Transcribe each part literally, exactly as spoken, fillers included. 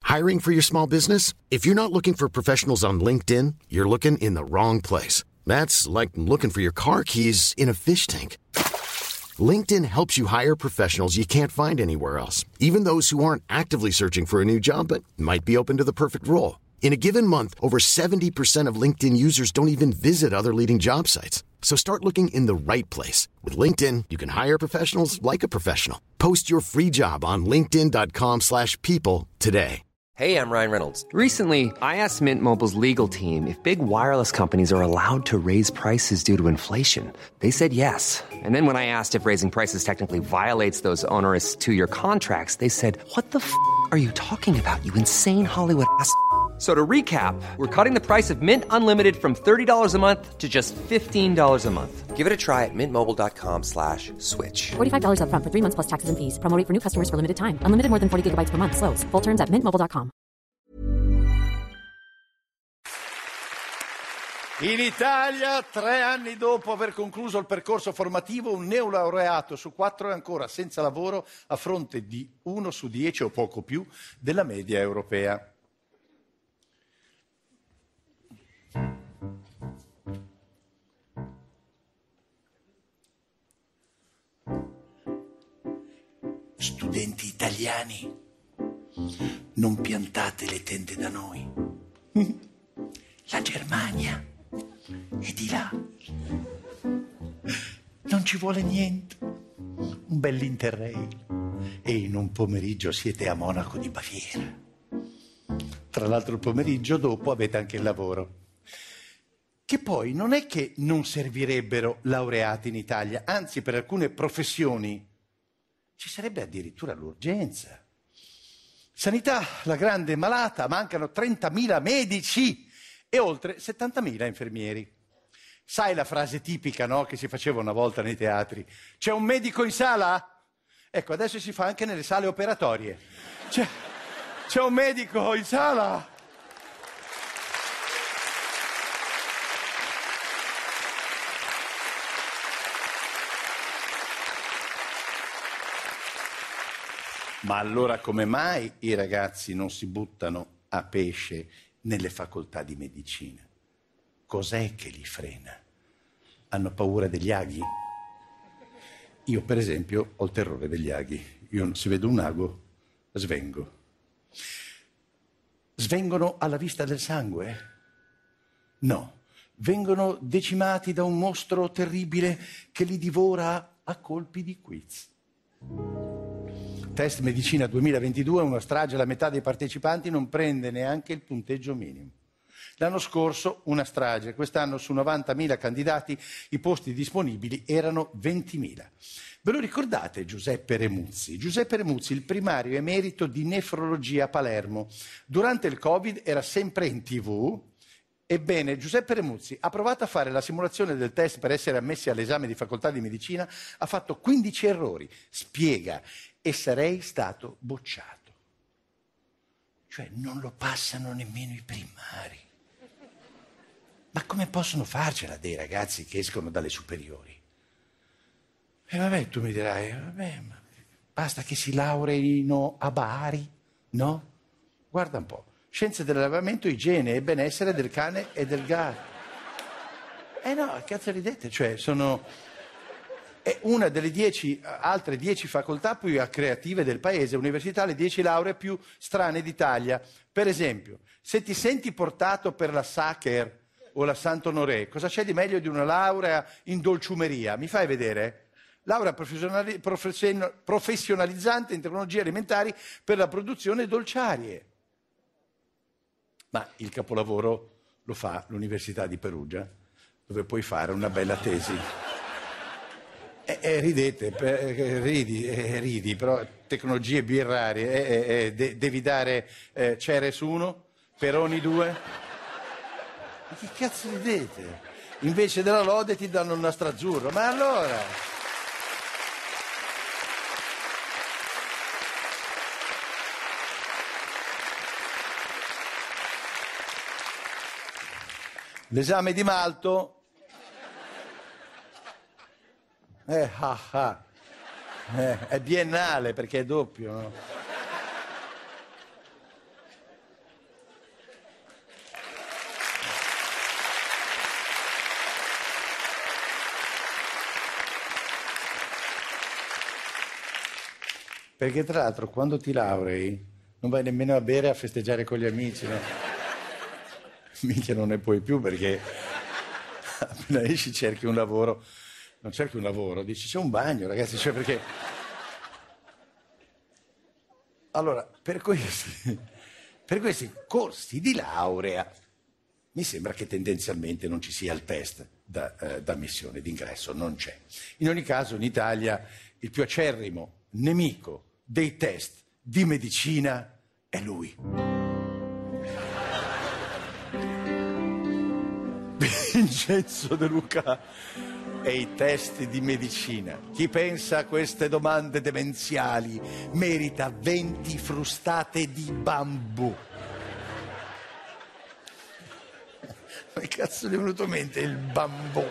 Hiring for your small business? If you're not looking for professionals on LinkedIn, you're looking in the wrong place. That's like looking for your car keys in a fish tank. LinkedIn helps you hire professionals you can't find anywhere else, even those who aren't actively searching for a new job but might be open to the perfect role. In a given month, over seventy percent of LinkedIn users don't even visit other leading job sites. So start looking in the right place. With LinkedIn, you can hire professionals like a professional. Post your free job on linkedin dot com slash people today. Hey, I'm Ryan Reynolds. Recently, I asked Mint Mobile's legal team if big wireless companies are allowed to raise prices due to inflation. They said yes. And then when I asked if raising prices technically violates those onerous two-year contracts, they said, what the f*** are you talking about, you insane Hollywood ass f- So to recap, we're cutting the price of Mint Unlimited from thirty dollars a month to just fifteen dollars a month. Give it a try at mintmobile.com slash switch. forty-five dollars up front for three months plus taxes and fees. Promo rate for new customers for limited time. Unlimited more than forty gigabytes per month. Slows full terms at mint mobile dot com. In Italia, tre anni dopo aver concluso il percorso formativo, un neolaureato su quattro è ancora senza lavoro a fronte di uno su dieci o poco più della media europea. Studenti italiani, non piantate le tende da noi. La Germania è di là. Non ci vuole niente. Un bell'Interrail. E in un pomeriggio siete a Monaco di Baviera. Tra l'altro il pomeriggio dopo avete anche il lavoro. Che poi non è che non servirebbero laureati in Italia, anzi per alcune professioni ci sarebbe addirittura l'urgenza. Sanità, la grande malata, mancano trentamila medici e oltre settantamila infermieri. Sai la frase tipica, no, che si faceva una volta nei teatri? C'è un medico in sala? Ecco, adesso si fa anche nelle sale operatorie. C'è, c'è un medico in sala? Ma allora come mai i ragazzi non si buttano a pesce nelle facoltà di medicina? Cos'è che li frena? Hanno paura degli aghi? Io, per esempio, ho il terrore degli aghi. Io, se vedo un ago, svengo. Svengono alla vista del sangue? No, vengono decimati da un mostro terribile che li divora a colpi di quiz. Test Medicina duemilaventidue, una strage, la metà dei partecipanti non prende neanche il punteggio minimo. L'anno scorso una strage, quest'anno su novantamila candidati i posti disponibili erano ventimila. Ve lo ricordate Giuseppe Remuzzi? Giuseppe Remuzzi, il primario emerito di nefrologia a Palermo. Durante il Covid era sempre in tivù. Ebbene, Giuseppe Remuzzi ha provato a fare la simulazione del test per essere ammessi all'esame di facoltà di medicina, ha fatto quindici errori. Spiega, e sarei stato bocciato. Cioè non lo passano nemmeno i primari. Ma come possono farcela dei ragazzi che escono dalle superiori? E vabbè, tu mi dirai, vabbè, ma basta che si laureino a Bari, no? Guarda un po', scienze dell'allevamento, igiene e benessere del cane e del gatto. Eh no, cazzo ridete, cioè sono... È una delle dieci, altre dieci facoltà più creative del paese, università, le dieci lauree più strane d'Italia. Per esempio, se ti senti portato per la Sacher o la Sant'Onoré, cosa c'è di meglio di una laurea in dolciumeria? Mi fai vedere? Laurea professionali- profession- professionalizzante in tecnologie alimentari per la produzione dolciarie. Ma il capolavoro lo fa l'Università di Perugia, dove puoi fare una bella tesi. Eh, eh, ridete, eh, ridi, eh, ridi, però tecnologie birrarie, eh, eh, de- devi dare eh, Ceres uno, Peroni due. Ma che cazzo ridete? Invece della lode ti danno il nastro azzurro, ma allora... L'esame di malto... Eh, ah, ah. Eh, è biennale perché è doppio, no? Perché tra l'altro quando ti laurei non vai nemmeno a bere, a festeggiare con gli amici, no? Minchia, non ne puoi più perché appena esci cerchi un lavoro, non cerchi un lavoro, dici c'è un bagno, ragazzi, cioè perché... Allora, per questi, per questi corsi di laurea mi sembra che tendenzialmente non ci sia il test da, eh, d'ammissione, d'ingresso, non c'è. In ogni caso in Italia il più acerrimo nemico dei test di medicina è lui. Vincenzo De Luca e i test di medicina. Chi pensa a queste domande demenziali merita venti frustate di bambù. Ma che cazzo gli è venuto in mente il bambù?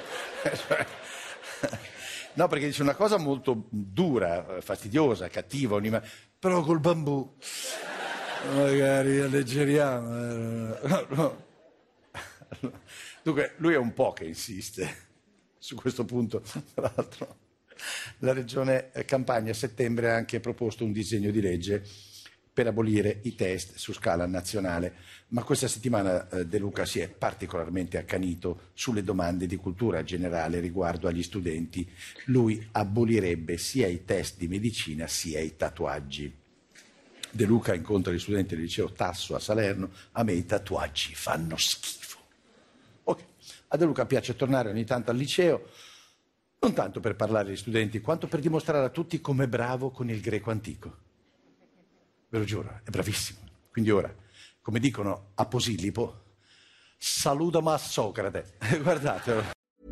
No, perché dice una cosa molto dura, fastidiosa, cattiva, unima... però col bambù magari alleggeriamo. No, no. Dunque, lui è un po' che insiste su questo punto. Tra l'altro, la Regione Campania a settembre ha anche proposto un disegno di legge per abolire i test su scala nazionale, ma questa settimana eh, De Luca si è particolarmente accanito sulle domande di cultura generale riguardo agli studenti. Lui abolirebbe sia i test di medicina sia i tatuaggi. De Luca incontra gli studenti del liceo Tasso a Salerno: a me i tatuaggi fanno schifo. Ok, a De Luca piace tornare ogni tanto al liceo, non tanto per parlare agli studenti, quanto per dimostrare a tutti com'è bravo con il greco antico. Ve lo giuro, è bravissimo. Quindi ora, come dicono a Posillipo, salutami a Socrate. Guardatelo.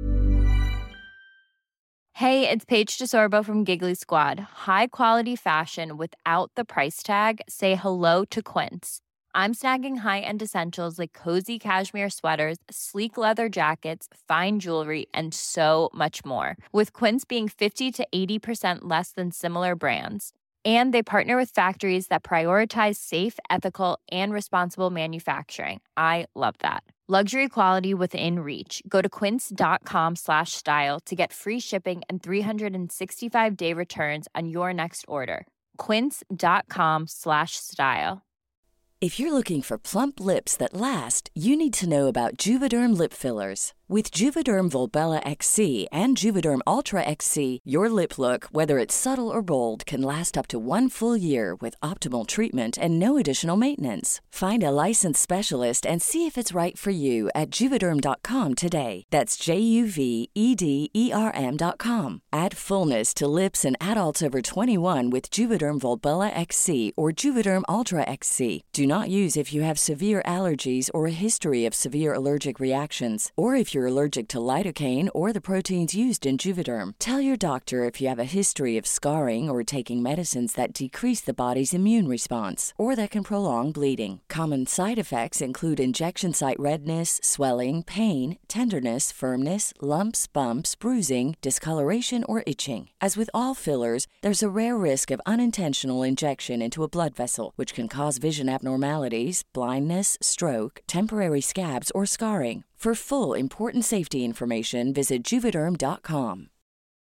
Hey, it's Paige DeSorbo from Giggly Squad. High quality fashion without the price tag. Say hello to Quince. I'm snagging high-end essentials like cozy cashmere sweaters, sleek leather jackets, fine jewelry, and so much more. With Quince being fifty to eighty percent less than similar brands. And they partner with factories that prioritize safe, ethical, and responsible manufacturing. I love that. Luxury quality within reach. Go to quince.com slash style to get free shipping and three sixty-five day returns on your next order. Quince.com slash style. If you're looking for plump lips that last, you need to know about Juvederm lip fillers. With Juvederm Volbella X C and Juvederm Ultra X C, your lip look, whether it's subtle or bold, can last up to one full year with optimal treatment and no additional maintenance. Find a licensed specialist and see if it's right for you at Juvederm dot com today. That's J U V E D E R M dot com. Add fullness to lips in adults over twenty-one with Juvederm Volbella X C or Juvederm Ultra X C. Do not use if you have severe allergies or a history of severe allergic reactions, or if you're allergic to lidocaine or the proteins used in Juvederm. Tell your doctor if you have a history of scarring or taking medicines that decrease the body's immune response or that can prolong bleeding. Common side effects include injection site redness, swelling, pain, tenderness, firmness, lumps, bumps, bruising, discoloration, or itching. As with all fillers, there's a rare risk of unintentional injection into a blood vessel, which can cause vision abnormalities, blindness, stroke, temporary scabs, or scarring. For full important safety information, visit Juvederm dot com.